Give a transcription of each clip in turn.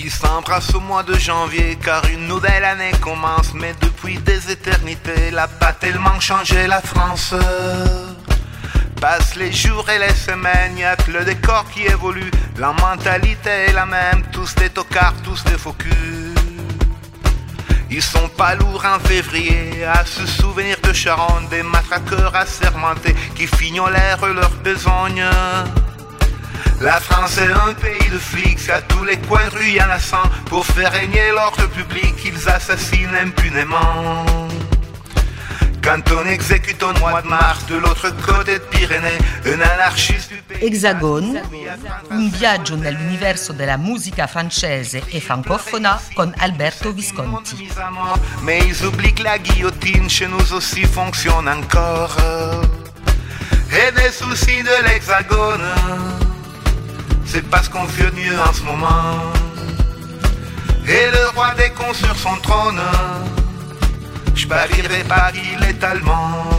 Ils s'embrassent au mois de janvier car une nouvelle année commence. Mais depuis des éternités, elle a pas tellement changé la France. Passent les jours et les semaines, y'a que le décor qui évolue. La mentalité est la même, tous des tocards, tous des faux culs. Ils sont pas lourds en février à se souvenir de Charonne, des matraqueurs assermentés qui fignolèrent leur besogne. La France est un pays de flics, à tous les coins de rue y'en a 100. Pour faire régner l'ordre public, ils assassinent impunément. Quand on exécute au mois de mars de l'autre côté de Pyrénées un anarchiste du pays. Hexagone, un viaggio nell'universo della musica francese e francofona con Alberto Visconti. Mais ils oublient que la guillotine chez nous aussi fonctionne encore. Et des soucis de l'Hexagone, c'est parce qu'on fait mieux en ce moment. Et le roi des cons sur son trône, je parierais pas qu'il est allemand.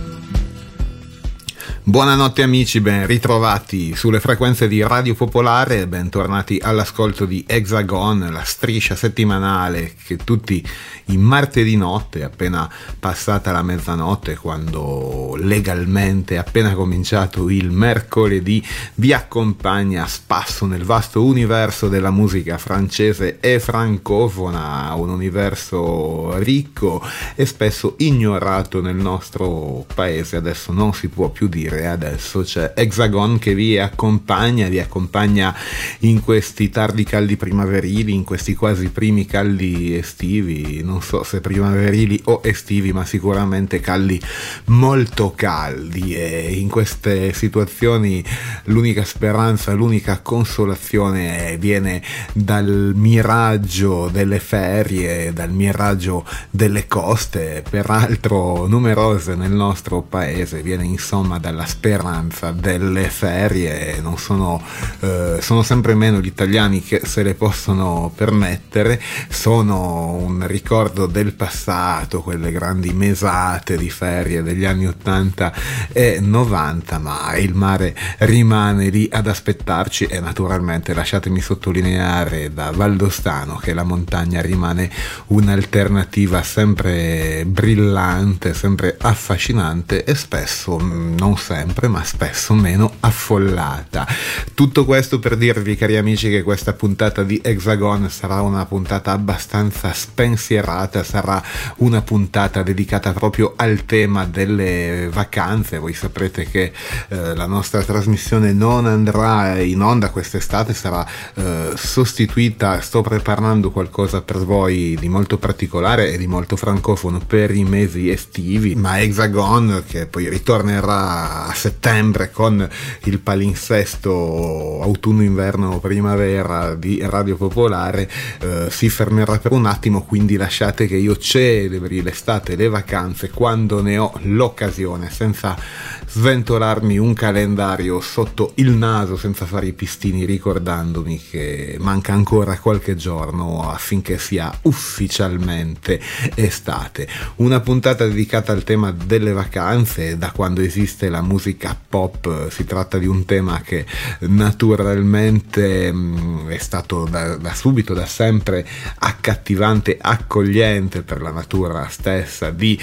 Buonanotte amici, ben ritrovati sulle frequenze di Radio Popolare e bentornati all'ascolto di Hexagone, la striscia settimanale che tutti i martedì notte, appena passata la mezzanotte, quando legalmente è appena cominciato il mercoledì, vi accompagna a spasso nel vasto universo della musica francese e francofona, un universo ricco e spesso ignorato nel nostro paese. Adesso non si può più dire. Adesso c'è Hexagone che vi accompagna in questi tardi caldi primaverili, in questi quasi primi caldi estivi, non so se primaverili o estivi, ma sicuramente caldi, molto caldi. E in queste situazioni l'unica speranza, l'unica consolazione viene dal miraggio delle ferie, dal miraggio delle coste, peraltro numerose nel nostro paese, viene insomma dalla speranza delle ferie. Non sono sempre meno gli italiani che se le possono permettere, sono un ricordo del passato, quelle grandi mesate di ferie degli anni 80 e 90, ma il mare rimane lì ad aspettarci e naturalmente lasciatemi sottolineare da valdostano che la montagna rimane un'alternativa sempre brillante, sempre affascinante e spesso, non sempre, ma spesso meno affollata. Tutto questo per dirvi, cari amici, che questa puntata di Hexagone sarà una puntata abbastanza spensierata, sarà una puntata dedicata proprio al tema delle vacanze. Voi saprete che la nostra trasmissione non andrà in onda quest'estate, sarà sostituita. Sto preparando qualcosa per voi di molto particolare e di molto francofono per i mesi estivi, ma Hexagone, che poi ritornerà a settembre con il palinsesto autunno-inverno-primavera di Radio Popolare, si fermerà per un attimo, quindi lasciate che io celebri l'estate e le vacanze quando ne ho l'occasione, senza sventolarmi un calendario sotto il naso, senza fare i pistini, ricordandomi che manca ancora qualche giorno affinché sia ufficialmente estate. Una puntata dedicata al tema delle vacanze. Da quando esiste la musica pop si tratta di un tema che naturalmente è stato da subito, da sempre accattivante, accogliente per la natura stessa di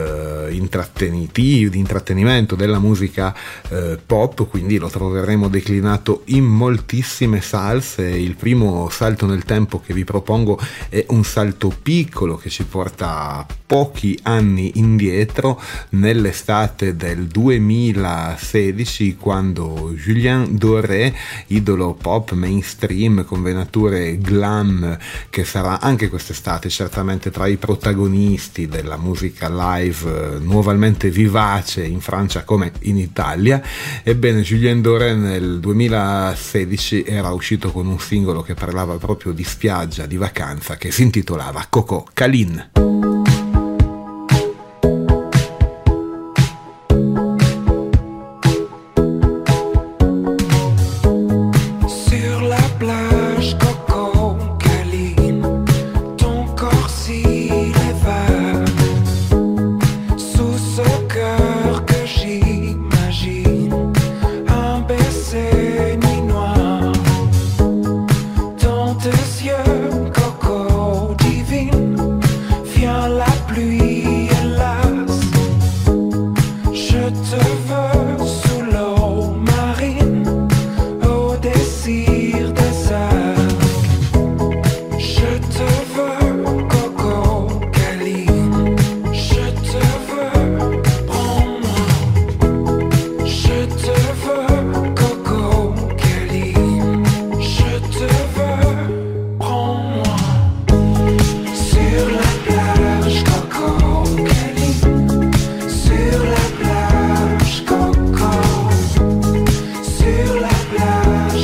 intrattenimento della musica pop, quindi lo troveremo declinato in moltissime salse. Il primo salto nel tempo che vi propongo è un salto piccolo che ci porta pochi anni indietro, nell'estate del 2016, quando Julien Doré, idolo pop mainstream con venature glam, che sarà anche quest'estate certamente tra i protagonisti della musica live nuovamente vivace in Francia come in Italia. Ebbene, Julien Doré nel 2016 era uscito con un singolo che parlava proprio di spiaggia, di vacanza, che si intitolava Coco Caline. Tes yeux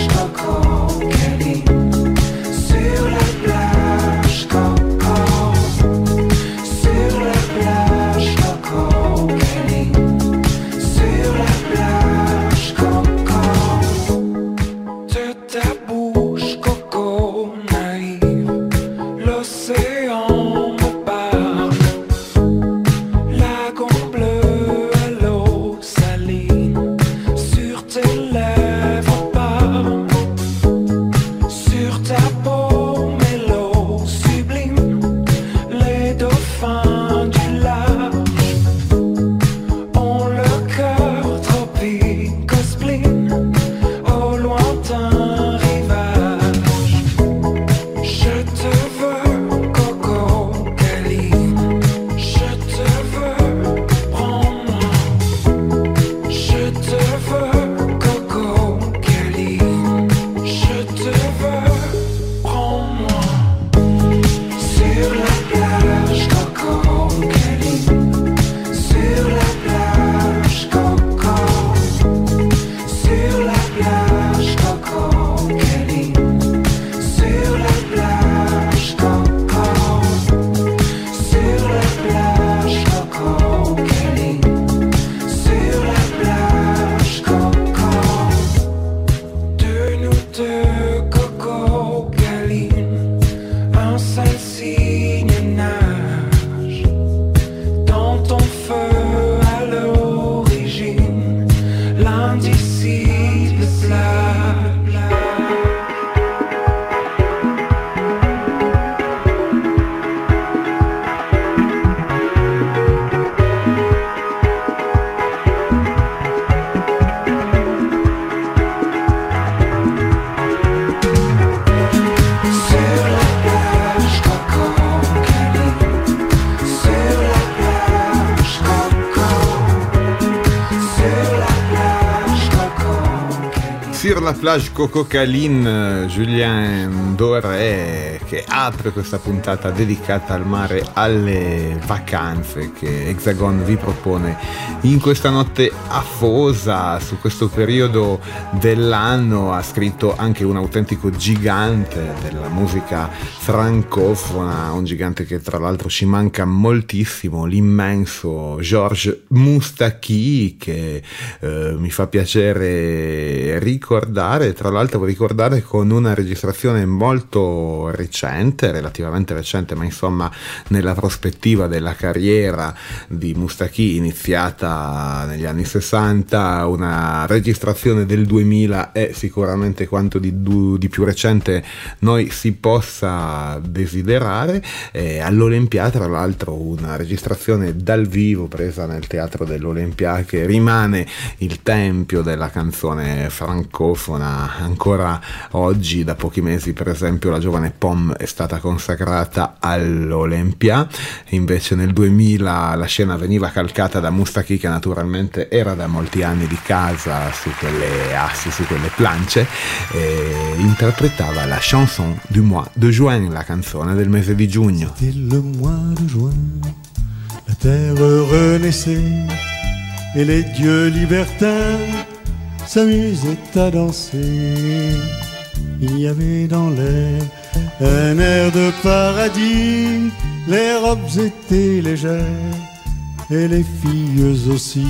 Sur la plage Coco-Caline, Julien Doré, che apre questa puntata dedicata al mare, alle vacanze che Hexagon vi propone in questa notte afosa. Su questo periodo dell'anno ha scritto anche un autentico gigante della musica francofona, un gigante che tra l'altro ci manca moltissimo, l'immenso Georges Moustaki, che mi fa piacere ricordare, tra l'altro ricordare con una registrazione molto recente, relativamente recente, ma insomma nella prospettiva della carriera di Moustaki iniziata negli anni 60, una registrazione del 2000 è sicuramente quanto di più recente noi si possa desiderare. All'Olympia, tra l'altro, una registrazione dal vivo presa nel teatro dell'Olympia, che rimane il tempio della canzone francofona. Ancora oggi, da pochi mesi, per esempio, la giovane Pomme è stata consacrata all'Olympia. Invece nel 2000 la scena veniva calcata da Moustaki, che naturalmente era da molti anni di casa su quelle assi, su quelle plance, e interpretava la chanson du mois de juin, la canzone del mese di giugno. C'était le mois de juin, la terre renaissait et les dieux libertins s'amusaient à danser. Il y avait dans l'air un air de paradis, les robes étaient légères et les filles aussi.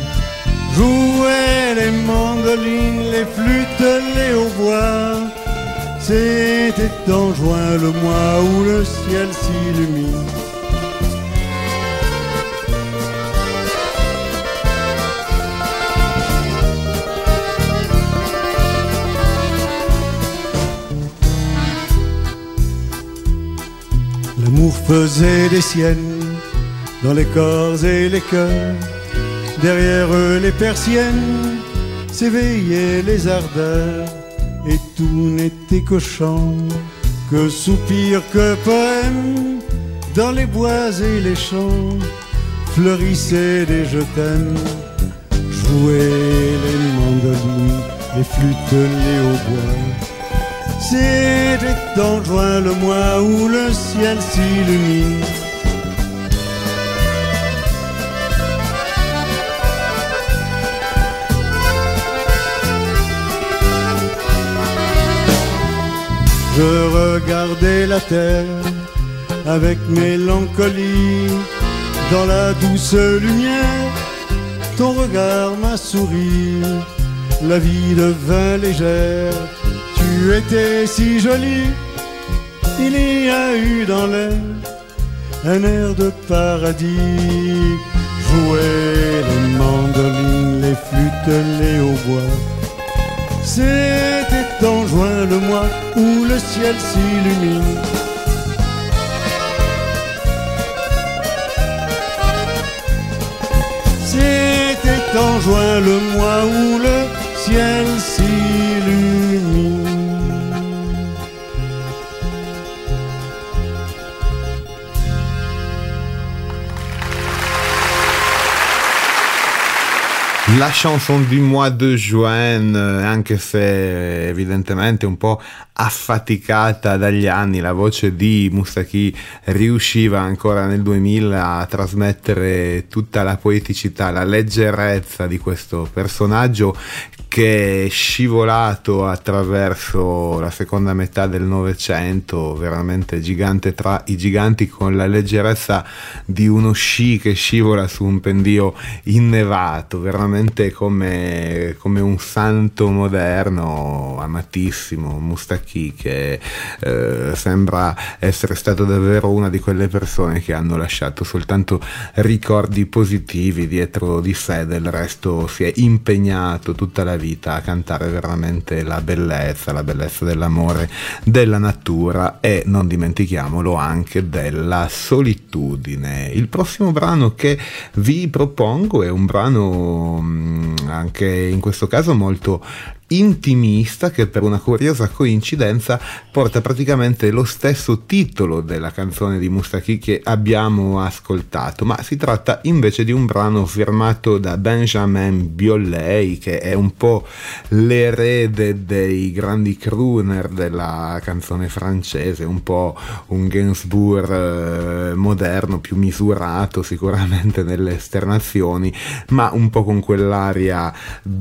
Jouaient les mandolines, les flûtes, les hautbois. C'était en juin le mois où le ciel s'illumine. L'amour faisait des siennes dans les corps et les cœurs. Derrière eux les persiennes s'éveillaient les ardeurs. Et tout n'était que chant, que soupir, que poème. Dans les bois et les champs fleurissaient des je t'aime. Jouaient les mandolines, les flûtes, les hautbois. C'était en juin le mois où le ciel s'illumine. Je regardais la terre avec mélancolie. Dans la douce lumière, ton regard m'a souri. La vie devint légère, tu étais si jolie. Il y a eu dans l'air un air de paradis. Jouer les mandolines, les flûtes, les hautbois. C'était en juin le mois où le ciel s'illumine. C'était en juin le mois où le ciel s'illumine. La chanson du mois de juin, anche se evidentemente un po' affaticata dagli anni, la voce di Moustaki riusciva ancora nel 2000 a trasmettere tutta la poeticità, la leggerezza di questo personaggio che è scivolato attraverso la seconda metà del Novecento, veramente gigante tra i giganti, con la leggerezza di uno sci che scivola su un pendio innevato, veramente come un santo moderno, amatissimo. Moustaki, che sembra essere stato davvero una di quelle persone che hanno lasciato soltanto ricordi positivi dietro di sé, del resto si è impegnato tutta la vita a cantare veramente la bellezza dell'amore, della natura e, non dimentichiamolo, anche della solitudine. Il prossimo brano che vi propongo è un brano anche in questo caso molto intimista, che per una curiosa coincidenza porta praticamente lo stesso titolo della canzone di Moustaki che abbiamo ascoltato, ma si tratta invece di un brano firmato da Benjamin Biolay, che è un po' l'erede dei grandi crooner della canzone francese, un po' un Gainsbourg moderno, più misurato sicuramente nelle esternazioni, ma un po' con quell'aria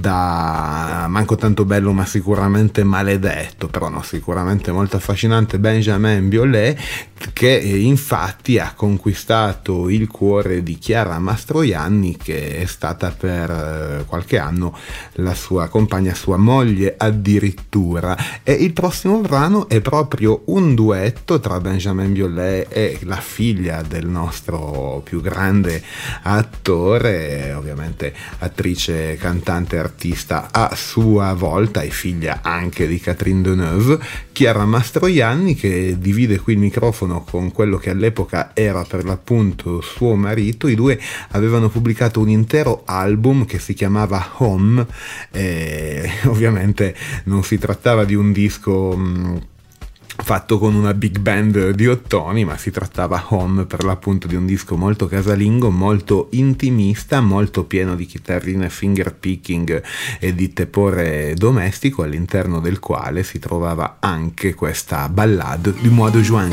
da manco tanto bello ma sicuramente maledetto, però no, sicuramente molto affascinante. Benjamin Biolay, che infatti ha conquistato il cuore di Chiara Mastroianni, che è stata per qualche anno la sua compagna, sua moglie addirittura. E il prossimo brano è proprio un duetto tra Benjamin Biolay e la figlia del nostro più grande attore, ovviamente attrice, cantante, artista a sua volta e figlia anche di Catherine Deneuve, Chiara Mastroianni, che divide qui il microfono con quello che all'epoca era per l'appunto suo marito. I due avevano pubblicato un intero album che si chiamava Home, e ovviamente non si trattava di un disco fatto con una big band di ottoni, ma si trattava Home per l'appunto di un disco molto casalingo, molto intimista, molto pieno di chitarrine finger picking e di tepore domestico, all'interno del quale si trovava anche questa ballade du mois de juin.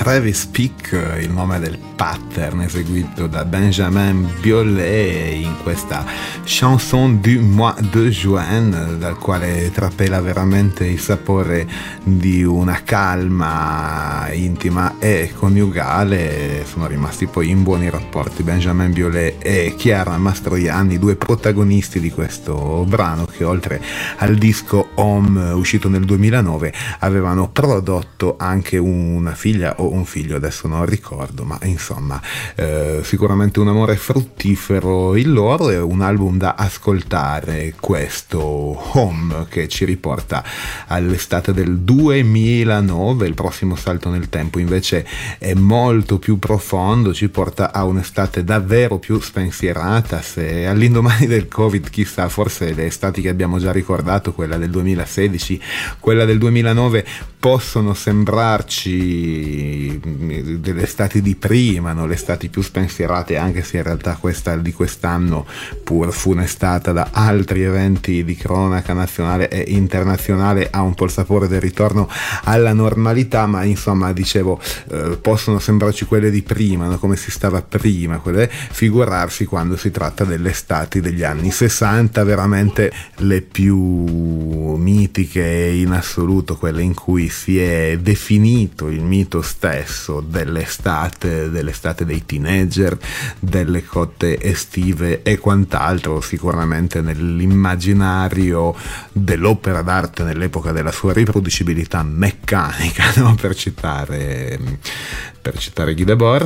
Travis Peak, il nome del pattern eseguito da Benjamin Biolay in questa Chanson du mois de juin, dal quale trapela veramente il sapore di una calma intima e coniugale. Sono rimasti poi in buoni rapporti Benjamin Biolay e Chiara Mastroianni, due protagonisti di questo brano, che oltre al disco Home uscito nel 2009 avevano prodotto anche una figlia o un figlio, adesso non ricordo, ma insomma sicuramente un amore fruttifero il loro, e un album da ascoltare questo Home, che ci riporta all'estate del 2009. Il prossimo salto nel tempo invece è molto più profondo, ci porta a un'estate davvero più spensierata. Se all'indomani del Covid, chissà, forse le estati che abbiamo già ricordato, quella del 2016, quella del 2009, possono sembrarci delle estati di prima, no? Le estati più spensierate, anche se in realtà questa di quest'anno, pur funestata da altri eventi di cronaca nazionale e internazionale, ha un po' il sapore del ritorno alla normalità. Ma insomma, dicevo, possono sembrarci quelle di prima, no? Come si stava prima, quelle, figurarsi quando si tratta delle estati degli anni 60, veramente le più mitiche in assoluto, quelle in cui si è definito il mito stesso dell'estate dei teenager, delle cotte estive e quant'altro. Sicuramente nell'immaginario dell'opera d'arte nell'epoca della sua riproducibilità meccanica, no? per citare Guy Debord,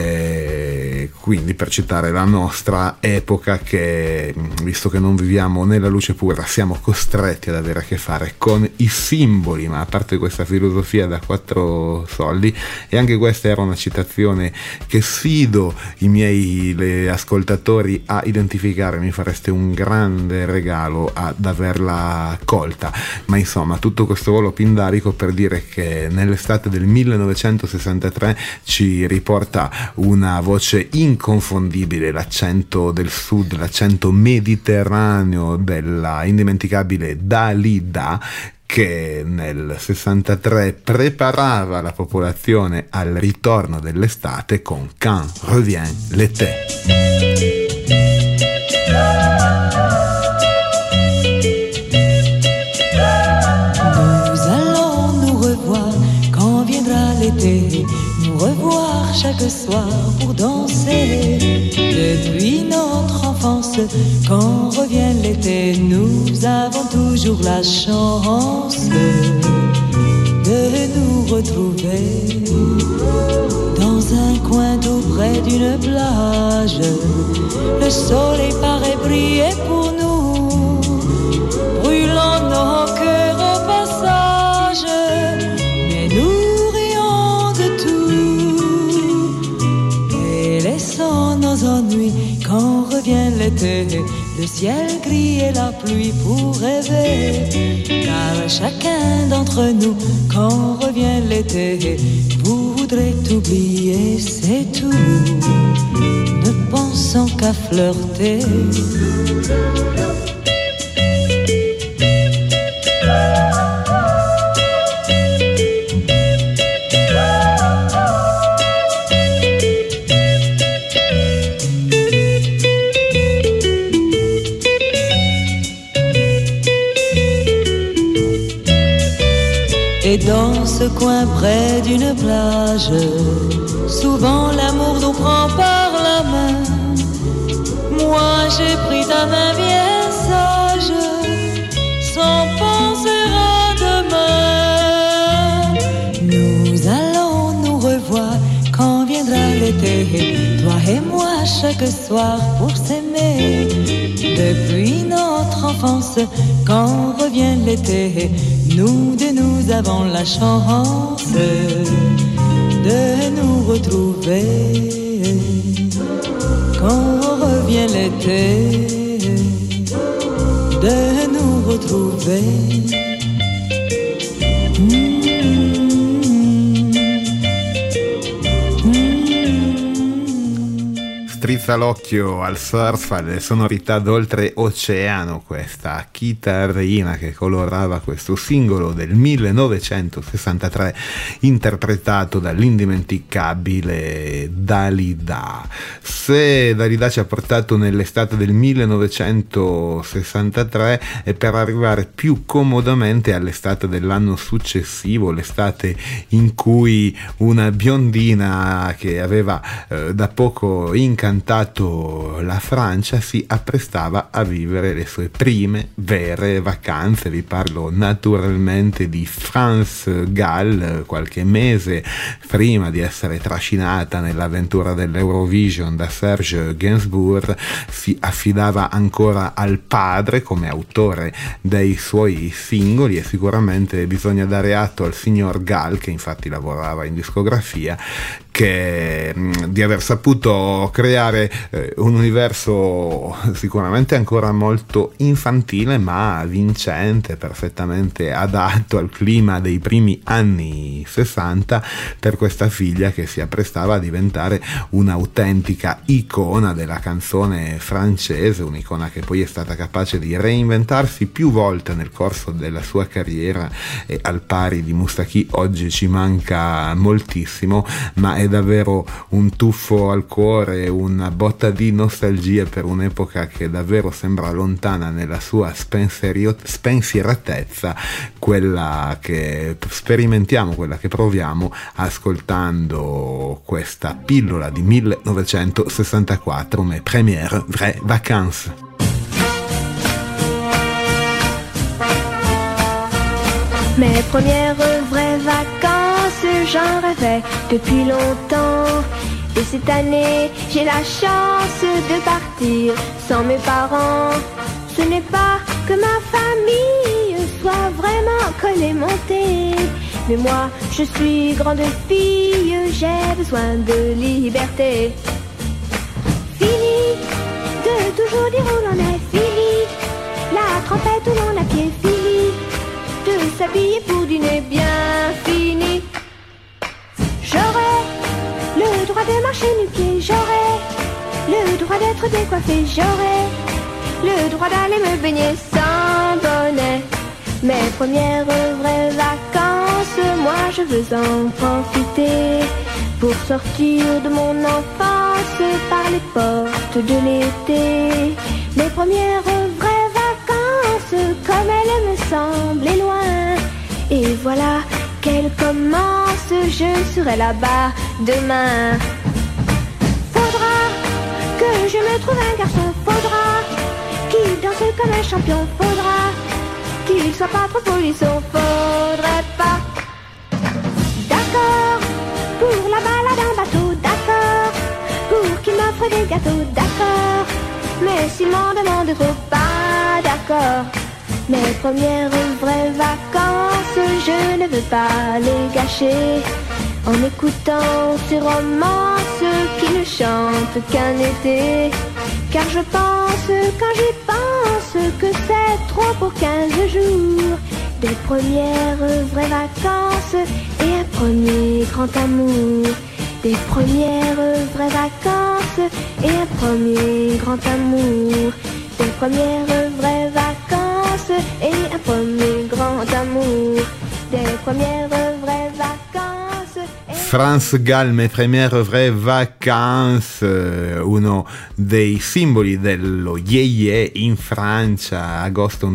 quindi per citare la nostra epoca, che visto che non viviamo nella luce pura, siamo costretti ad avere a che fare con i simboli. Ma a parte questa filosofia da 4 soldi, e anche questa era una citazione che sfido i miei ascoltatori a identificare, mi fareste un grande regalo ad averla colta. Ma insomma, tutto questo volo pindarico per dire che nell'estate del 1963 ci riporta una voce inconfondibile, l'accento del sud, l'accento mediterraneo della indimenticabile Dalida, che nel 63 preparava la popolazione al ritorno dell'estate con Quand revient l'été. L'été, nous revoir chaque soir pour danser. Depuis notre enfance, quand revient l'été, nous avons toujours la chance de nous retrouver dans un coin tout près d'une plage. Le soleil paraît briller pour nous, brûlant nos cœurs au passage. Mais nous nos ennuis quand revient l'été, le ciel gris et la pluie pour rêver. Car chacun d'entre nous, quand revient l'été, voudrait oublier, c'est tout, ne pensant qu'à flirter. Et dans ce coin près d'une plage, souvent l'amour nous prend par la main. Moi j'ai pris ta main bien sage, sans penser à demain. Nous allons nous revoir quand viendra l'été, toi et moi chaque soir pour s'aimer. Depuis notre enfance, quand revient l'été, nous avons la chance de nous retrouver. Quand revient l'été, de nous retrouver. strizza l'occhio al surf, alle sonorità d'oltreoceano, questa chitarrina che colorava questo singolo del 1963 interpretato dall'indimenticabile Dalida. Se Dalida ci ha portato nell'estate del 1963 è per arrivare più comodamente all'estate dell'anno successivo, l'estate in cui una biondina che aveva da poco incantato la Francia si apprestava a vivere le sue prime vere vacanze. Vi parlo naturalmente di France Gall. Qualche mese prima di essere trascinata nell'avventura dell'Eurovision da Serge Gainsbourg si affidava ancora al padre come autore dei suoi singoli, e sicuramente bisogna dare atto al signor Gall, che infatti lavorava in discografia, di aver saputo creare un universo sicuramente ancora molto infantile ma vincente, perfettamente adatto al clima dei primi anni 60 per questa figlia che si apprestava a diventare un'autentica icona della canzone francese, un'icona che poi è stata capace di reinventarsi più volte nel corso della sua carriera, e al pari di Moustaki oggi ci manca moltissimo, ma è davvero un tuffo al cuore, una botta di nostalgia per un'epoca che davvero sembra lontana nella sua spensieratezza, quella che sperimentiamo, quella che proviamo ascoltando questa pillola di 1964, Mes premières vraies vacances. Mes premières vraies vacances, j'en rêvais depuis longtemps. Et cette année, j'ai la chance de partir sans mes parents. Ce n'est pas que ma famille soit vraiment collémentée, mais moi, je suis grande fille, j'ai besoin de liberté. Fini de toujours dire où l'on est, fini la trompette où l'on a pied, fini de s'habiller pour dîner, bien fini. J'aurai le droit de marcher nu-pieds, j'aurai le droit d'être décoiffée, j'aurai le droit d'aller me baigner sans bonnet. Mes premières vraies vacances, moi je veux en profiter pour sortir de mon enfance par les portes de l'été. Mes premières vraies vacances, comme elles me semblaient loin, et voilà qu'elles commencent, je serai là-bas demain. Faudra que je me trouve un garçon, faudra qu'il danse comme un champion, faudra qu'il soit pas trop polisson, faudrait pas. D'accord pour la balade en bateau, d'accord pour qu'il m'offre des gâteaux, d'accord, mais s'il m'en demande trop, pas d'accord. Mes premières vraies vacances, je ne veux pas les gâcher en écoutant ces romances qui ne chantent qu'un été. Car je pense, quand j'y pense, que c'est trop pour 15 jours. Des premières vraies vacances et un premier grand amour. Des premières vraies vacances et un premier grand amour. Des premières vraies vacances et un premier grand amour. Des premières vraies vacances. France Gall, Mes premières vraies vacances, uno dei simboli dello yeye in Francia, agosto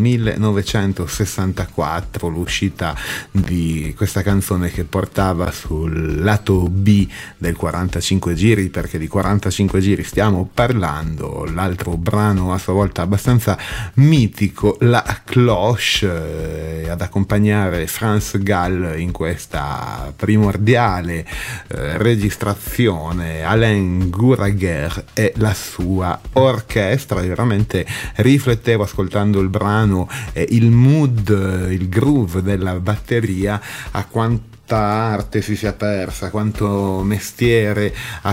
1964, l'uscita di questa canzone che portava sul lato B del 45 giri, perché di 45 giri stiamo parlando. L'altro brano a sua volta abbastanza mitico, La Cloche, ad accompagnare France Gall in questa primordiale registrazione, Alain Gouraguer e la sua orchestra. E veramente riflettevo ascoltando il brano il mood, il groove della batteria, a quanto quanta arte si sia persa, quanto mestiere, a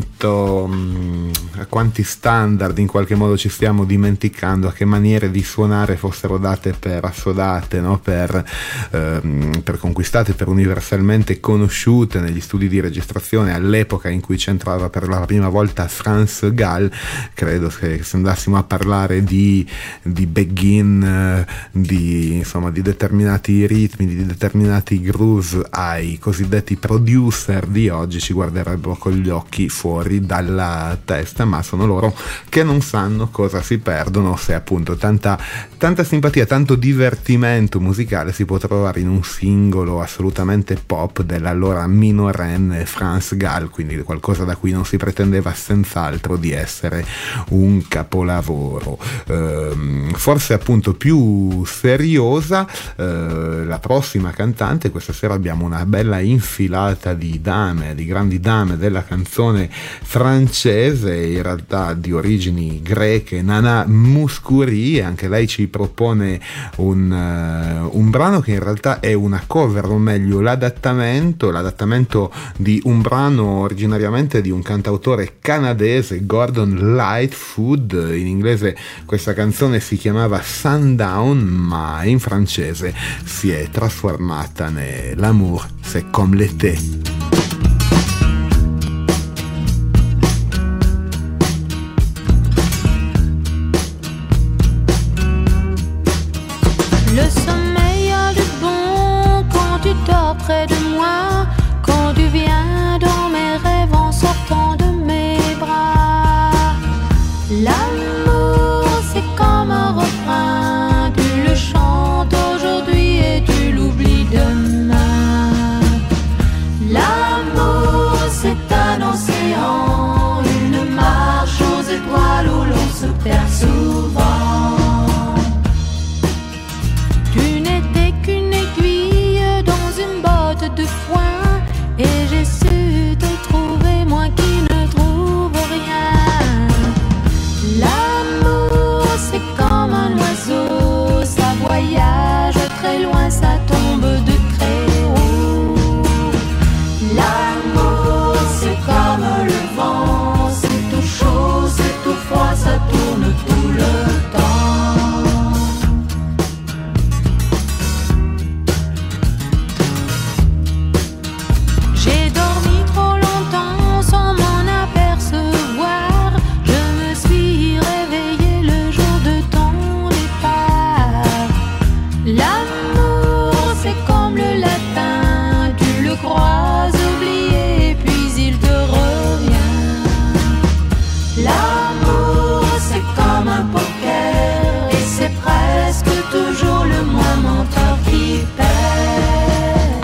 quanti standard in qualche modo ci stiamo dimenticando, a che maniere di suonare fossero date per assodate, no? per conquistate, per universalmente conosciute negli studi di registrazione all'epoca in cui c'entrava per la prima volta Franz Gall. Credo che se andassimo a parlare di begin, di determinati ritmi, di determinati grooves ai cosiddetti producer di oggi, ci guarderebbero con gli occhi fuori dalla testa, ma sono loro che non sanno cosa si perdono se appunto tanta simpatia, tanto divertimento musicale si può trovare in un singolo assolutamente pop dell'allora minorenne Franz Gall, quindi qualcosa da cui non si pretendeva senz'altro di essere un capolavoro. Forse appunto più seriosa la prossima cantante. Questa sera abbiamo una bella infilata di grandi dame della canzone francese, in realtà di origini greche, Nana Mouskouri. Anche lei ci propone un brano che in realtà è una cover, o meglio l'adattamento di un brano originariamente di un cantautore canadese, Gordon Lightfoot. In inglese questa canzone si chiamava Sundown, ma in francese si è trasformata nell'Amour c'est comme l'été. Le sommeil a du bon quand tu dors près de moi, quand tu viens dans mes rêves en sortant de mes bras. L'amour c'est comme un refrain, tu le chantes aujourd'hui et tu l'oublies demain. L'amour c'est un océan, une marche aux étoiles où l'on se perd souvent. De foin et j'ai su te trouver, moi qui ne trouve rien. L'amour c'est comme un oiseau, ça voyage très loin, ça tombe de très haut. L'amour c'est comme le vent, c'est tout chaud, c'est tout froid, ça tourne tout le temps. Toujours le moins menteur qui perd.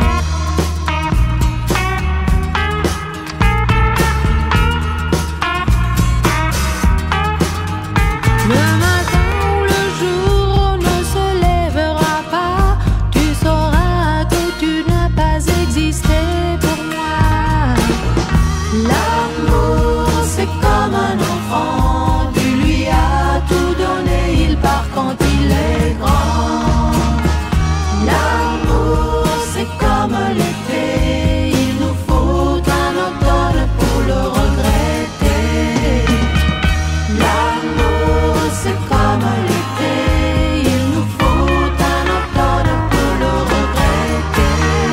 Le matin où le jour ne se lèvera pas, tu sauras que tu n'as pas existé pour moi. L'amour c'est comme un enfant, tu lui as tout donné, il part quand il est grand. L'amour c'est comme l'été, il nous faut un automne pour le regretter. L'amour c'est comme l'été, il nous faut un automne pour le regretter.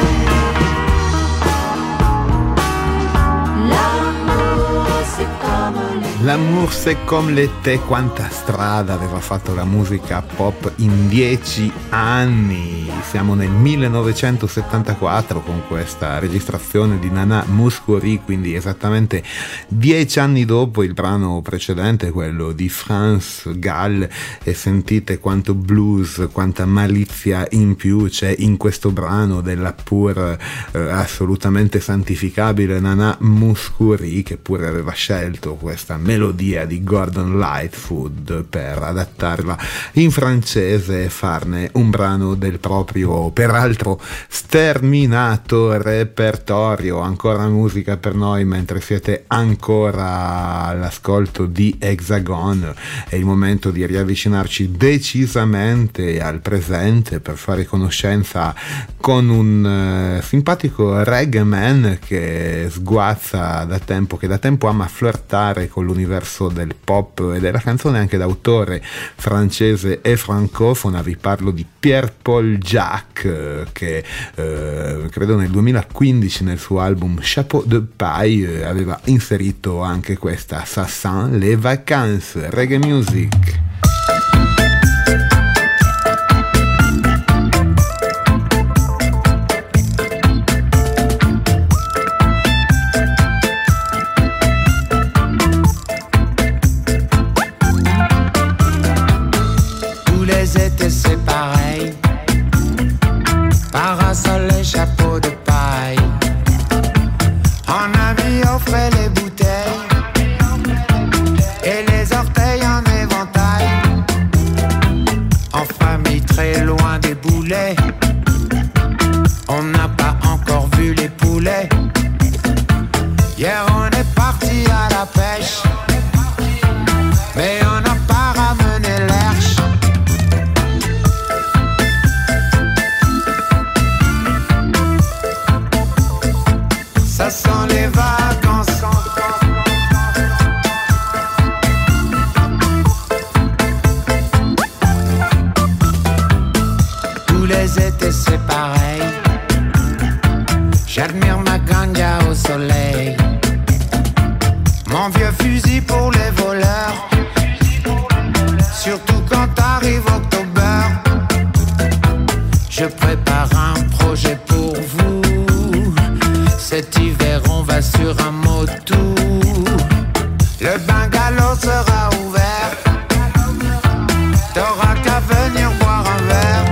L'amour c'est comme l'été. L'amour c'est comme l'été. Quanta strada aveva fatto la musica pop in 10 anni. Siamo nel 1974 con questa registrazione di Nana Mouskouri, quindi esattamente 10 anni dopo il brano precedente, quello di Franz Gall, e sentite quanto blues, quanta malizia in più c'è in questo brano della pur assolutamente santificabile Nana Mouskouri, che pure aveva scelto questa melodia melodia di Gordon Lightfoot per adattarla in francese e farne un brano del proprio, peraltro sterminato repertorio. Ancora musica per noi mentre siete ancora all'ascolto di Hexagon. È il momento di riavvicinarci decisamente al presente per fare conoscenza con un simpatico reggae man che sguazza da tempo, che da tempo ama flirtare con l'universo del pop e della canzone anche d'autore francese e francofona. Vi parlo di Pierre-Paul Jacques che credo nel 2015 nel suo album Chapeau de Paille aveva inserito anche questa Ça sent les vacances, reggae music. C'est pareil, parasol et chapeau de paille. En ami offrait les bouteilles et les orteils en éventail. En famille très loin des boulets, on n'a pas encore vu les poulets. Hier on est parti à la pêche, mais on n'a pas ramené l'herche. Ça sent les vacances. Tous les étés c'est pareil. J'admire ma ganja au soleil. Mon vieux fusil pour les voleurs. Surtout quand arrive octobre. Je prépare un projet pour vous. Cet hiver on va sur un moto. Le bungalow sera ouvert. T'auras qu'à venir boire un verre.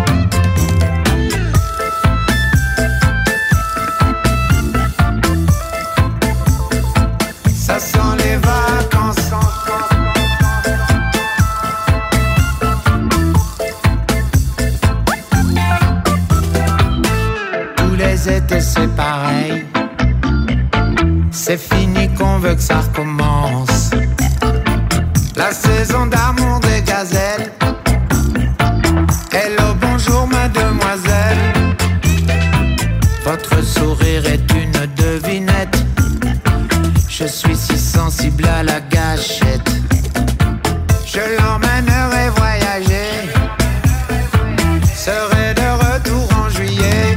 Ça sent les vacances. Tous les étés c'est pareil. C'est fini qu'on veut que ça recommence. La saison d'amour des gazelles. Hello, bonjour mademoiselle. Votre sourire est une devinette. Je suis si sensible à la gâchette. Je l'emmènerai voyager. Serai de retour en juillet.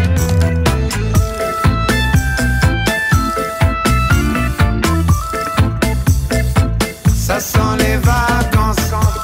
Ça sent les vacances.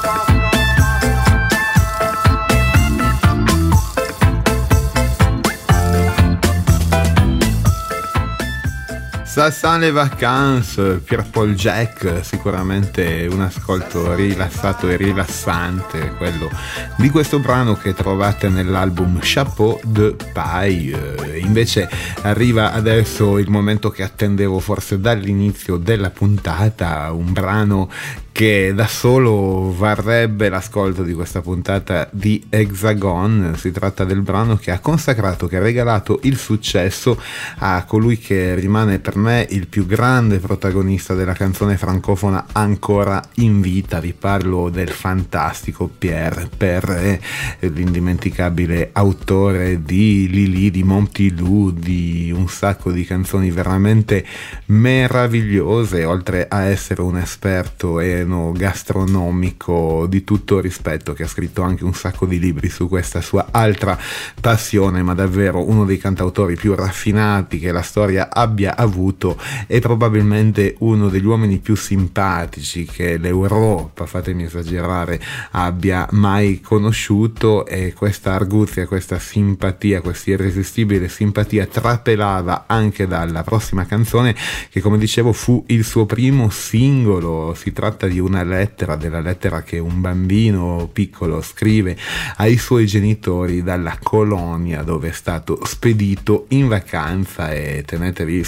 Ça sent les vacances, Pierre-Paul Jacques, sicuramente un ascolto rilassato e rilassante, quello di questo brano che trovate nell'album Chapeau de Paille. Invece arriva adesso il momento che attendevo forse dall'inizio della puntata, un brano che da solo varrebbe l'ascolto di questa puntata di Hexagon. Si tratta del brano che ha consacrato, che ha regalato il successo a colui che rimane per me il più grande protagonista della canzone francofona ancora in vita. Vi parlo del fantastico Pierre Perret, l'indimenticabile autore di Lili, di Montilou, di un sacco di canzoni veramente meravigliose, oltre a essere un esperto gastronomico di tutto rispetto, che ha scritto anche un sacco di libri su questa sua altra passione, ma davvero uno dei cantautori più raffinati che la storia abbia avuto, e probabilmente uno degli uomini più simpatici che l'Europa, fatemi esagerare, abbia mai conosciuto. E questa arguzia, questa simpatia, questa irresistibile simpatia trapelava anche dalla prossima canzone, che come dicevo fu il suo primo singolo. Si tratta di una lettera, della lettera che un bambino piccolo scrive ai suoi genitori dalla colonia dove è stato spedito in vacanza, e tenetevi forte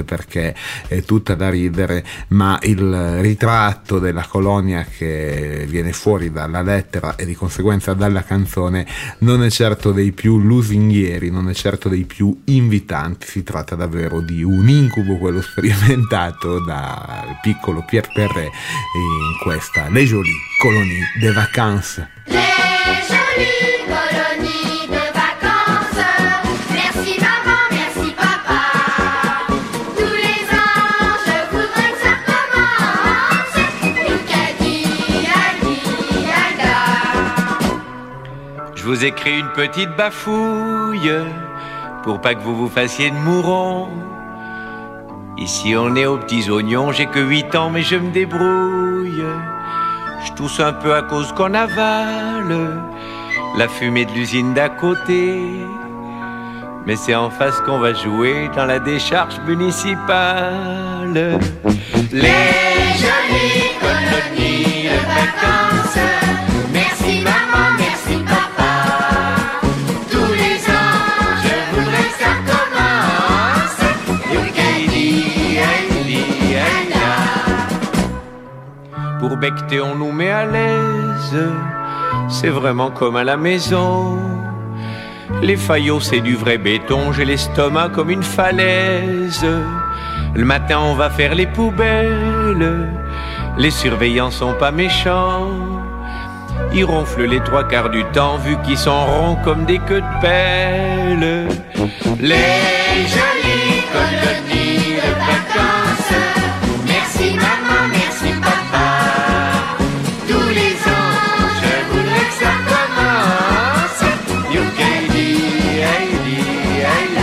perché è tutta da ridere, ma il ritratto della colonia che viene fuori dalla lettera e di conseguenza dalla canzone non è certo dei più lusinghieri, non è certo dei più invitanti. Si tratta davvero di un incubo, quello sperimentato dal piccolo Pierre Perret in questa Les Jolies Colonies de Vacances. Les jolies colonies de vacances, merci maman, merci papa. Tous les ans, je voudrais que ça recommence. Lucadi, Ali, Alda. Je vous écris une petite bafouille pour pas que vous vous fassiez de mouron. Ici on est aux petits oignons, j'ai que 8 ans mais je me débrouille. Je tousse un peu à cause qu'on avale la fumée de l'usine d'à côté. Mais c'est en face qu'on va jouer dans la décharge municipale. Les jolies colonies de vacances, merci maman, merci papa. Tous les ans, je voudrais que ça recommence. Youkeli, Aïli, Aïla. Pour becter, on nous met à l'aise. C'est vraiment comme à la maison. Les faillots, c'est du vrai béton. J'ai l'estomac comme une falaise. Le matin, on va faire les poubelles. Les surveillants sont pas méchants. Ils ronflent les 3/4 du temps, vu qu'ils sont ronds comme des queues de pelle. Les jolies colonies de vacances, merci maman, merci papa. Tous les ans, je voudrais que ça commence. Youkeli, Aïli,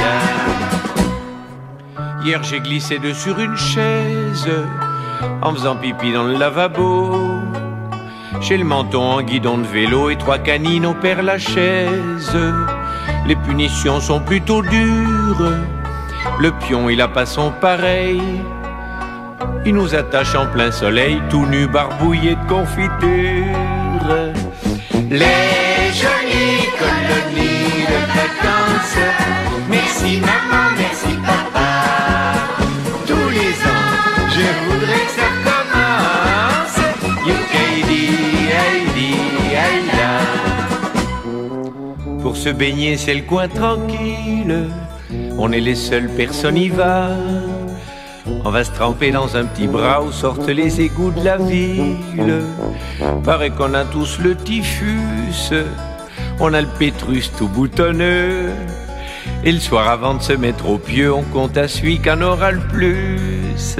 Aïla. Hier, j'ai glissé dessus une chaise en faisant pipi dans le lavabo. J'ai le menton en guidon de vélo et 3 canines au Père-Lachaise. Les punitions sont plutôt dures. Le pion, il a pas son pareil. Il nous attache en plein soleil, tout nu, barbouillé de confiture. Les jolies colonies de vacances, merci maman, merci papa. Tous les ans, je voudrais que ça commence. Youkeli, Aïli, Aïla. Pour se baigner, c'est le coin tranquille. On est les seules personnes y va. On va se tremper dans un petit bras où sortent les égouts de la ville. Paraît qu'on a tous le typhus. On a le pétrus tout boutonneux. Et le soir avant de se mettre au pieu, on compte à celui qu'en aura le plus.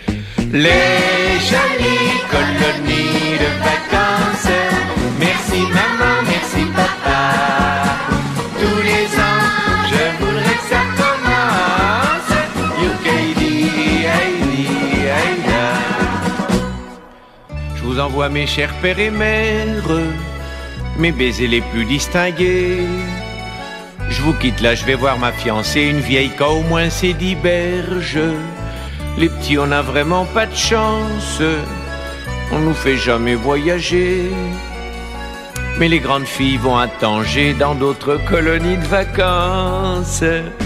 Les jolies colonies de vacances, merci maman, merci papa. Tous les ans, je voudrais que ça commence. Youkeli, Aïli, Aïla. Je vous envoie mes chers pères et mères, mes baisers les plus distingués. Je vous quitte là, je vais voir ma fiancée, une vieille qu'a au moins ses 10 berges. Les petits, on n'a vraiment pas de chance. On nous fait jamais voyager. Mais les grandes filles vont à Tanger, dans d'autres colonies de vacances.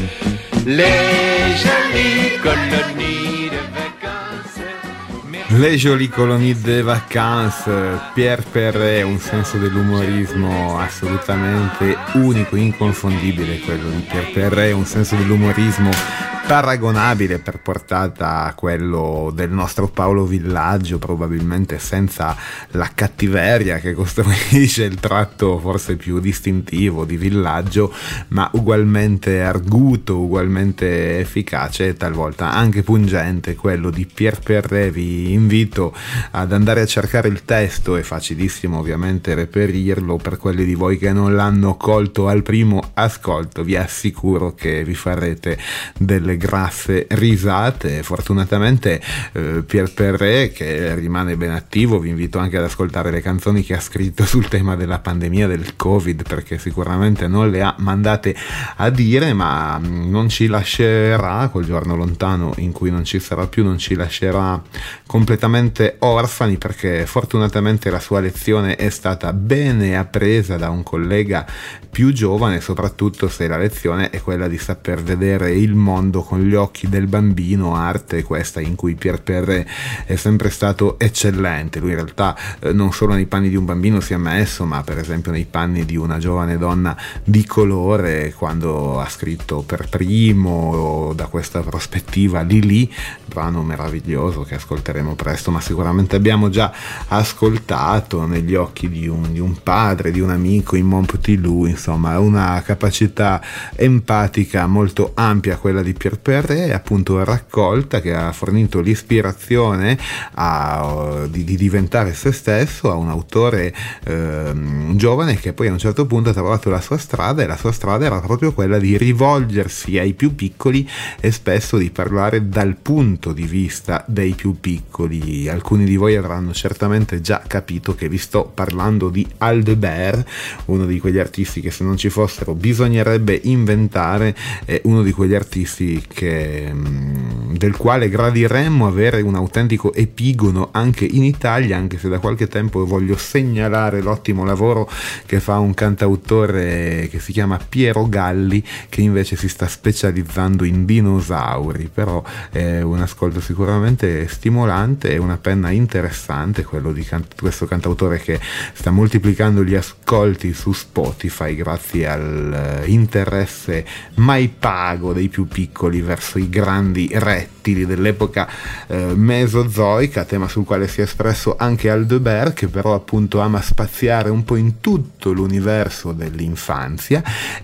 Les jolies colonies de vacances. Les Jolies Colonies de Vacances, Pierre Perret, un senso dell'umorismo assolutamente unico, inconfondibile quello di Pierre Perret, un senso dell'umorismo paragonabile per portata a quello del nostro Paolo Villaggio, probabilmente senza la cattiveria che costruisce il tratto forse più distintivo di Villaggio, ma ugualmente arguto, ugualmente efficace e talvolta anche pungente quello di Pierre Perret. Vi invito ad andare a cercare il testo, è facilissimo ovviamente reperirlo. Per quelli di voi che non l'hanno colto al primo ascolto, vi assicuro che vi farete delle grasse risate. Fortunatamente Pierre Perret, che rimane ben attivo, vi invito anche ad ascoltare le canzoni che ha scritto sul tema della pandemia del Covid, perché sicuramente non le ha mandate a dire, ma non ci lascerà, quel giorno lontano in cui non ci sarà più, non ci lascerà completamente orfani, perché fortunatamente la sua lezione è stata bene appresa da un collega più giovane, soprattutto se la lezione è quella di saper vedere il mondo con gli occhi del bambino, arte questa in cui Pierre Perret è sempre stato eccellente. Lui in realtà non solo nei panni di un bambino si è messo, ma per esempio nei panni di una giovane donna di colore, quando ha scritto per primo da questa prospettiva Lili, brano meraviglioso che ascolteremo presto, ma sicuramente abbiamo già ascoltato, Negli occhi di un padre, di un amico, in Mon Petit Loup. Insomma, una capacità empatica molto ampia quella di Pierre Perret, appunto raccolta, che ha fornito l'ispirazione di diventare se stesso a un autore giovane che poi a un certo punto ha trovato la sua strada, e la sua strada era proprio quella di rivolgersi ai più piccoli e spesso di parlare dal punto di vista dei più piccoli. Alcuni di voi avranno certamente già capito che vi sto parlando di Aldebert, uno di quegli artisti che se non ci fossero bisognerebbe inventare, uno di quegli artisti del quale gradiremmo avere un autentico epigono anche in Italia, anche se da qualche tempo voglio segnalare l'ottimo lavoro che fa un cantautore che si chiama Piero Galli, che invece si sta specializzando in dinosauri. Però è un ascolto sicuramente stimolante e una penna interessante quello di questo cantautore, che sta moltiplicando gli ascolti su Spotify grazie all'interesse mai pago dei più piccoli verso i grandi rettili dell'epoca mesozoica, tema sul quale si è espresso anche Aldebert, che però appunto ama spaziare un po' in tutto l'universo dell'infanzia,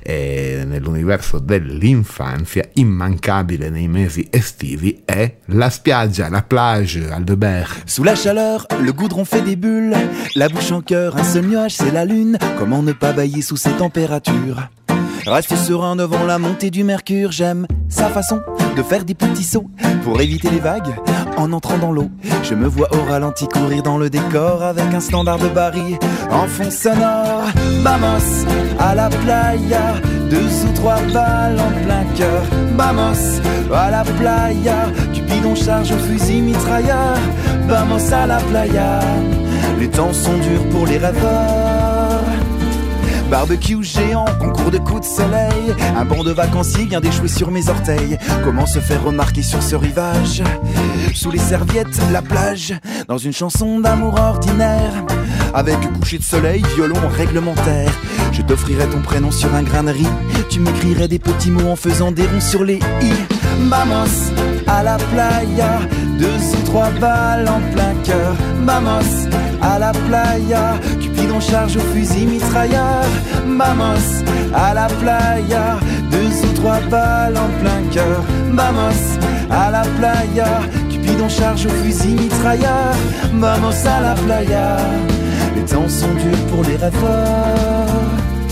e nell'universo dell'infanzia immancabile nei mesi estivi è la spiaggia, la plage. Aldebert. Sous la chaleur, le goudron fait des bulles, la bouche en cœur, un seul nuage, c'est la lune. Comment ne pas bailler sous ces températures? Rester serein devant la montée du mercure. J'aime sa façon de faire des petits sauts pour éviter les vagues en entrant dans l'eau. Je me vois au ralenti courir dans le décor avec un standard de Barry en fond sonore. Vamos à la playa, 2 ou 3 balles en plein cœur. Vamos à la playa, Cupidon charge au fusil mitrailleur. Vamos à la playa, les temps sont durs pour les rêveurs. Barbecue géant, concours de coups de soleil. Un banc de vacanciers vient d'échouer sur mes orteils. Comment se faire remarquer sur ce rivage? Sous les serviettes, la plage, dans une chanson d'amour ordinaire. Avec coucher de soleil, violon réglementaire. Je t'offrirai ton prénom sur un grain de riz. Tu m'écrirais des petits mots en faisant des ronds sur les i. Vamos à la playa, 2 ou 3 balles en plein cœur. Vamos à la playa, Cupidon charge au fusil mitrailleur. Vamos à la playa, 2 ou 3 balles en plein cœur. Vamos à la playa, Cupidon charge au fusil mitrailleur. Vamos à la playa, les temps sont durs pour les rêveurs.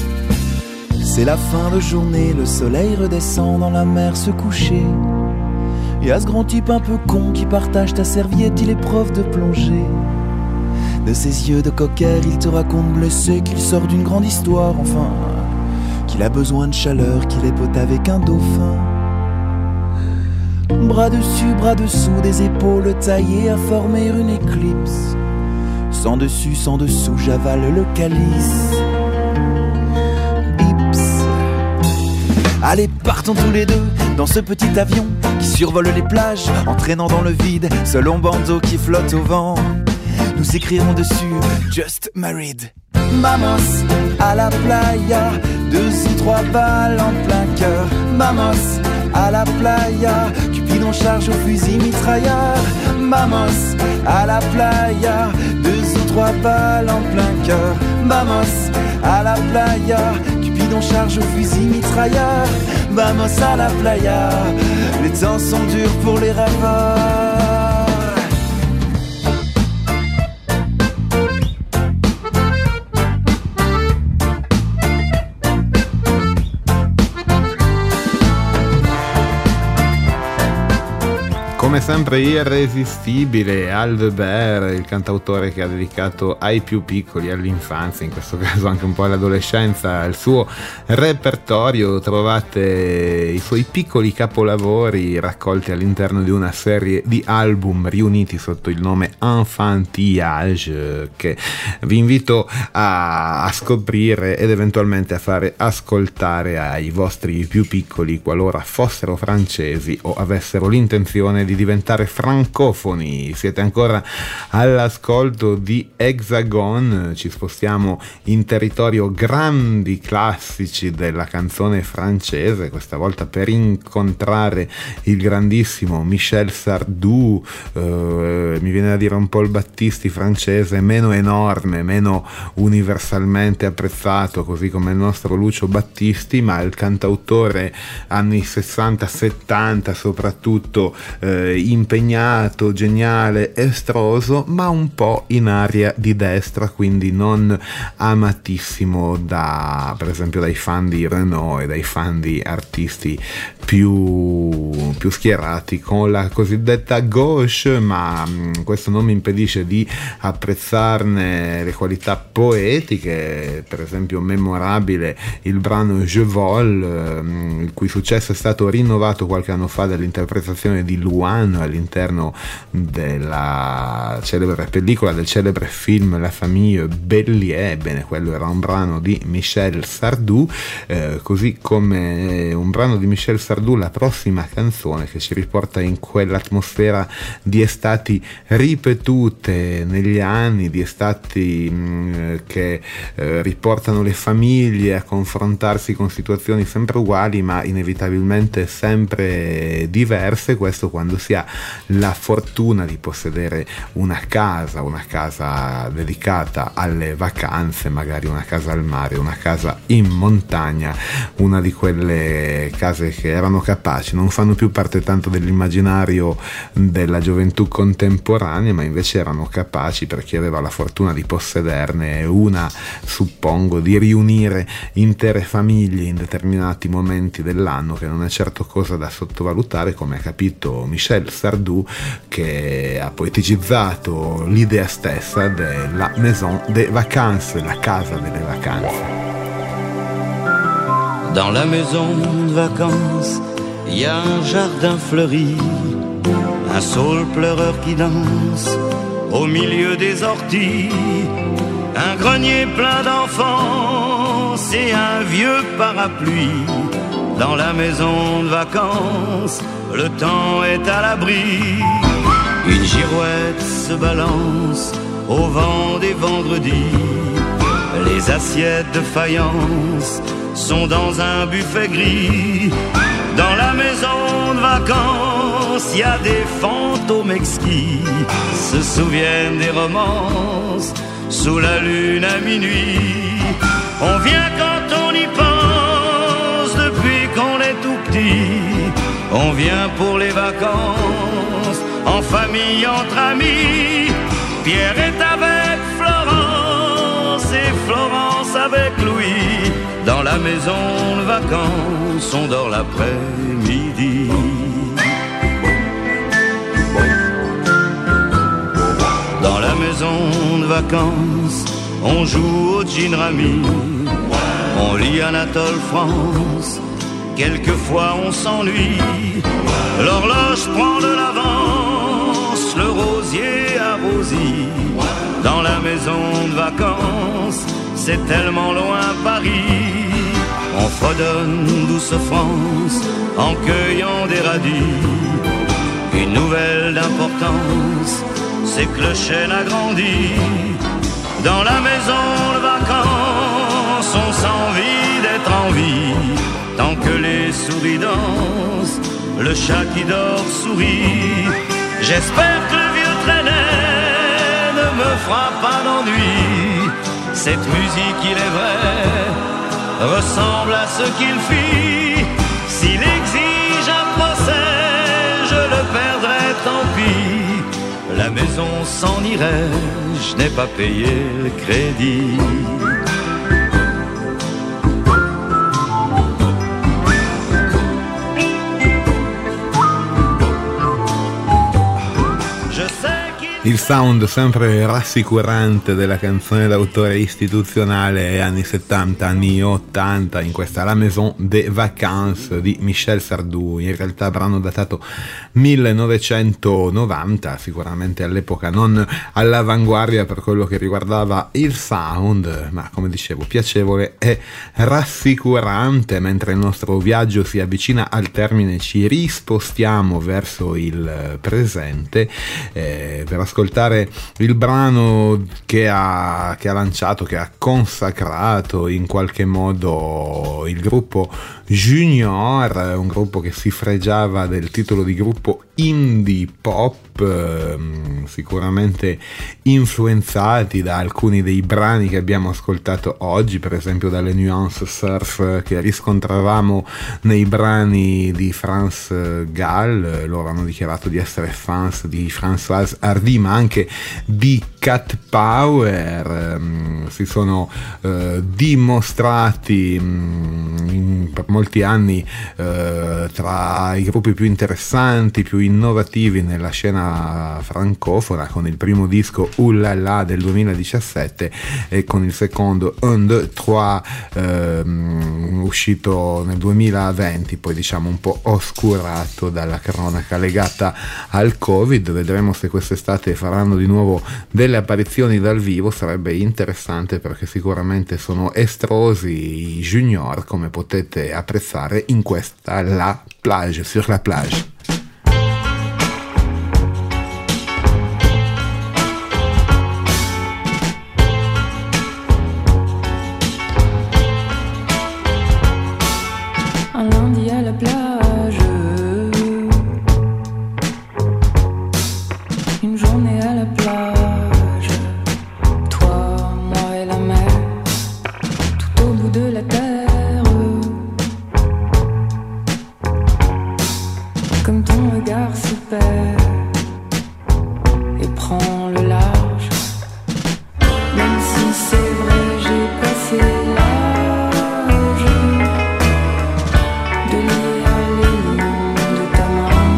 C'est la fin de journée, le soleil redescend dans la mer se coucher. Y'a ce grand type un peu con qui partage ta serviette, il est prof de plongée. De ses yeux de cocker, il te raconte blessé qu'il sort d'une grande histoire, enfin, qu'il a besoin de chaleur, qu'il est pote avec un dauphin. Bras dessus, bras dessous, des épaules taillées à former une éclipse. Sans dessus, sans dessous, j'avale le calice. Allez, partons tous les deux dans ce petit avion qui survole les plages, entraînant dans le vide ce long bandeau qui flotte au vent. Nous écrirons dessus Just Married. Vamos à la playa, 2 ou 3 balles en plein cœur. Vamos à la playa, Cupidon charge au fusil mitrailleur. Vamos à la playa, 2 ou 3 balles en plein cœur. Vamos à la playa, Cupidon charge au fusil mitrailleur. Vamos à la playa, les temps sont durs pour les rêveurs. Come sempre irresistibile Alve Bear, il cantautore che ha dedicato ai più piccoli, all'infanzia, in questo caso anche un po' all'adolescenza, il suo repertorio. Trovate i suoi piccoli capolavori raccolti all'interno di una serie di album riuniti sotto il nome Enfantillage, che vi invito a scoprire ed eventualmente a fare ascoltare ai vostri più piccoli qualora fossero francesi o avessero l'intenzione di diventare francofoni. Siete ancora all'ascolto di Hexagon, ci spostiamo in territorio grandi classici della canzone francese, questa volta per incontrare il grandissimo Michel Sardou, mi viene da dire un po' il Battisti francese, meno enorme, meno universalmente apprezzato così come il nostro Lucio Battisti, ma il cantautore anni 60-70 soprattutto, impegnato, geniale, estroso, ma un po' in area di destra, quindi non amatissimo per esempio dai fan di Renaud e dai fan di artisti più schierati con la cosiddetta gauche, ma questo non mi impedisce di apprezzarne le qualità poetiche. Per esempio memorabile il brano Je Vole, il cui successo è stato rinnovato qualche anno fa dall'interpretazione di Luan all'interno della celebre pellicola, del celebre film La Famille Bélier. Ebbene, quello era un brano di Michel Sardou, così come un brano di Michel Sardou, la prossima canzone, che ci riporta in quell'atmosfera di estati ripetute negli anni, di estati che riportano le famiglie a confrontarsi con situazioni sempre uguali ma inevitabilmente sempre diverse. Questo quando si ha la fortuna di possedere una casa dedicata alle vacanze, magari una casa al mare, una casa in montagna, una di quelle case che erano capaci, non fanno più parte tanto dell'immaginario della gioventù contemporanea, ma invece erano capaci, per chi aveva la fortuna di possederne una, suppongo, di riunire intere famiglie in determinati momenti dell'anno, che non è certo cosa da sottovalutare, come ha capito Michel Sardou, che ha poeticizzato l'idea stessa della Maison des Vacances, la casa delle vacanze. Dans la maison de vacances, il y a un jardin fleuri, un saule pleureur qui danse au milieu des orties, un grenier plein d'enfants et un vieux parapluie. Dans la maison de vacances, le temps est à l'abri. Une girouette se balance au vent des vendredis. Les assiettes de faïence sont dans un buffet gris. Dans la maison de vacances, il y a des fantômes exquis, se souviennent des romances sous la lune à minuit. On vient quand on y pense, depuis qu'on est tout petit. On vient pour les vacances, en famille, entre amis. Pierre est avec Florence et Florence avec Louis. Dans la maison de vacances, on dort l'après-midi. Dans la maison de vacances, on joue au gin rami. On lit Anatole France, quelquefois on s'ennuie. L'horloge prend de l'avance, le rosier arrosie. Dans la maison de vacances, c'est tellement loin Paris. On fredonne douce France en cueillant des radis. Une nouvelle d'importance, c'est que le chêne a grandi. Dans la maison de vacances, on s'envie d'être en vie. Tant que les souris dansent, le chat qui dort sourit. J'espère que le vieux traînet ne me fera pas d'ennui. Cette musique, il est vrai, ressemble à ce qu'il fit. S'il exige un procès, je le perdrai, tant pis. La maison s'en irait, je n'ai pas payé le crédit. Il sound sempre rassicurante della canzone d'autore istituzionale anni 70, anni 80, in questa La Maison des Vacances di Michel Sardou, in realtà brano datato 1990, sicuramente all'epoca non all'avanguardia per quello che riguardava il sound, ma come dicevo piacevole e rassicurante. Mentre il nostro viaggio si avvicina al termine ci rispostiamo verso il presente per ascoltare il brano che ha lanciato, che ha consacrato in qualche modo il gruppo Junior, un gruppo che si fregiava del titolo di gruppo indie pop, sicuramente influenzati da alcuni dei brani che abbiamo ascoltato oggi, per esempio dalle nuance surf che riscontravamo nei brani di France Gall. Loro hanno dichiarato di essere fans di Françoise Hardy, ma anche di Cat Power. Si sono dimostrati per molti anni tra i gruppi più interessanti, più innovativi nella scena francofona, con il primo disco Oulala del 2017 e con il secondo Un, Deux, Trois uscito nel 2020, poi diciamo un po' oscurato dalla cronaca legata al Covid. Vedremo se quest'estate faranno di nuovo delle apparizioni dal vivo, sarebbe interessante perché sicuramente sono estrosi i Junior, come potete apprezzare in questa La Plage, sur la plage. Un lundi à la plage, une journée à la plage, toi, moi et la mer, tout au bout de la terre, comme ton regard se perd et prend le large, même si c'est vrai j'ai passé l'âge de lire les noms de ta main,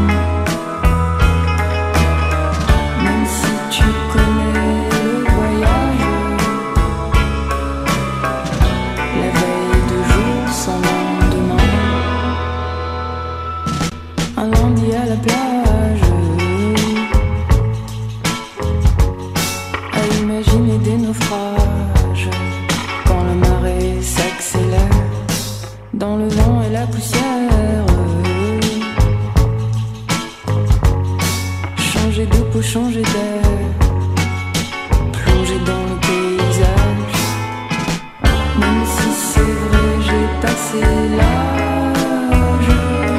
même si tu connais le voyage, la veille de jour sans lendemain, un lundi à la plage, à imaginer des naufrages quand la marée s'accélère dans le vent et la poussière, changer de peau, changer d'air, plonger dans le paysage, même si c'est vrai j'ai passé l'âge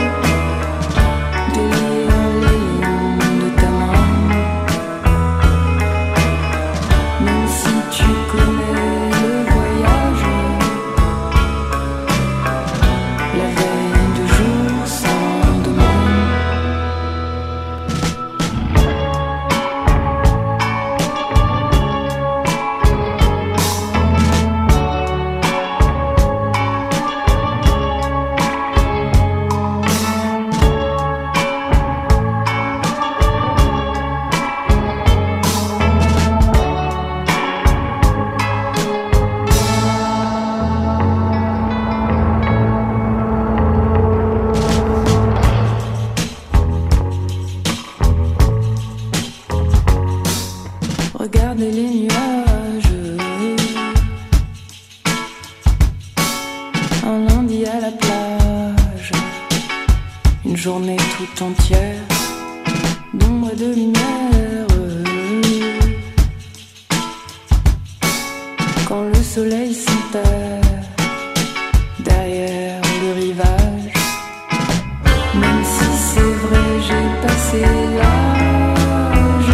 de lire les lignes de ta main, même si tu connais le voyage, la veille de jour sans demain. Regardez les nuages, un lundi à la plage, une journée tout entière d'ombre et de lumière, quand le soleil s'enterre derrière le rivage, même si c'est vrai j'ai passé l'âge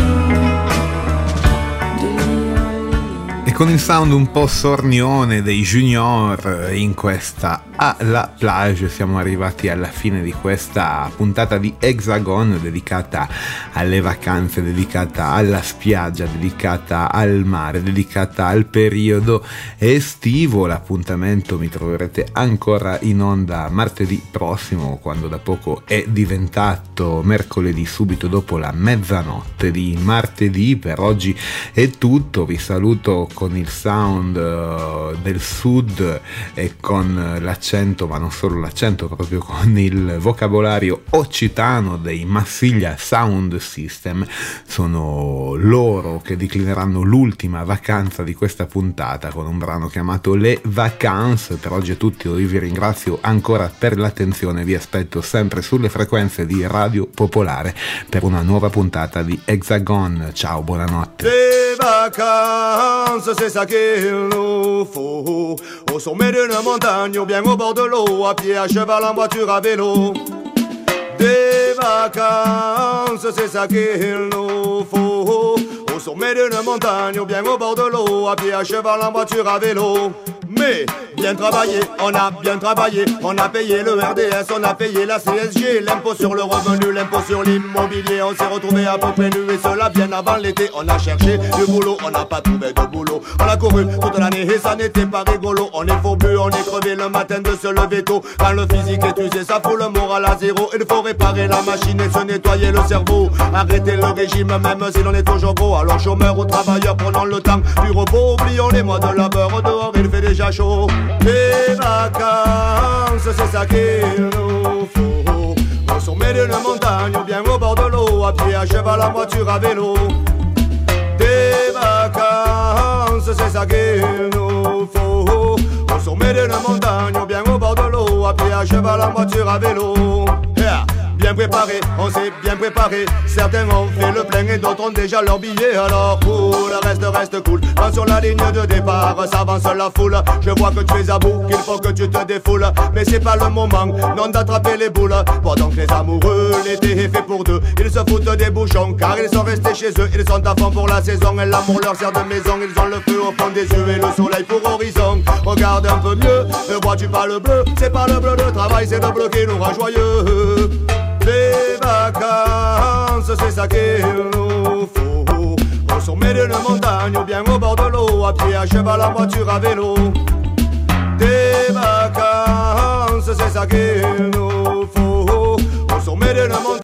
de lire les lignes. E con il sound un po' sornione dei Junior in questa à la plage. Siamo arrivati alla fine di questa puntata di Hexagon dedicata alle vacanze, dedicata alla spiaggia, dedicata al mare, dedicata al periodo estivo. L'appuntamento mi troverete ancora in onda martedì prossimo, quando da poco è diventato mercoledì, subito dopo la mezzanotte di martedì. Per oggi è tutto, vi saluto con il sound del sud e con l'accento, ma non solo l'accento, proprio con il vocabolario occitano dei Marsiglia Sound System. Sono loro che declineranno l'ultima vacanza di questa puntata con un brano chiamato Le Vacances. Per oggi è tutto, io vi ringrazio ancora per l'attenzione, vi aspetto sempre sulle frequenze di Radio Popolare per una nuova puntata di Hexagon. Ciao, buonanotte. Les vacances, c'est ça qu'il nous faut. Au sommet d'une montagne ou bien au bord de l'eau, à pied, à cheval, en voiture, à vélo. Des vacances, c'est ça qu'il nous faut. Au sommet d'une montagne ou bien au bord de l'eau, à pied, à cheval, en voiture, à vélo. Mais bien travaillé, on a bien travaillé, on a payé le RDS, on a payé la CSG, l'impôt sur le revenu, l'impôt sur l'immobilier. On s'est retrouvé à peu près nu et cela bien avant l'été. On a cherché du boulot, on n'a pas trouvé de boulot. On a couru toute l'année et ça n'était pas rigolo. On est fourbus, on est crevé le matin de se lever tôt. Quand le physique est usé, ça fout le moral à zéro. Il faut réparer la machine et se nettoyer le cerveau. Arrêter le régime même si l'on est toujours gros. Alors chômeurs ou travailleurs, prenons le temps du repos. Oublions les mois de labeur, dehors il fait déjà chaud. Les vacances, c'est ça qu'il nous faut. Au sommet d'une montagne ou bien au bord de l'eau, à pied, à cheval, en voiture, à vélo. Des vacances, c'est ça qu'il nous faut. Au sommet d'une montagne ou bien au bord de l'eau, à pied, à cheval, en voiture, à vélo. Yeah. Bien préparé, on s'est bien préparé. Certains ont fait le plein et d'autres ont déjà leur billet. Alors cool, reste cool. Quand sur la ligne de départ s'avance la foule, je vois que tu es à bout, qu'il faut que tu te défoules. Mais c'est pas le moment, non, d'attraper les boules. Pendant que les amoureux, l'été est fait pour deux. Ils se foutent des bouchons car ils sont restés chez eux. Ils sont à fond pour la saison et l'amour leur sert de maison. Ils ont le feu au fond des yeux et le soleil pour horizon. Regarde un peu mieux, ne vois-tu pas le bleu? C'est pas le bleu de travail, c'est le bleu qui nous rend joyeux. Les vacances, c'est ça qu'il nous faut. Au sommet d'une montagne ou bien au bord de l'eau, à pied, à cheval, en voiture, à vélo. Des vacances, c'est ça qu'il nous faut. Au sommet d'une montagne.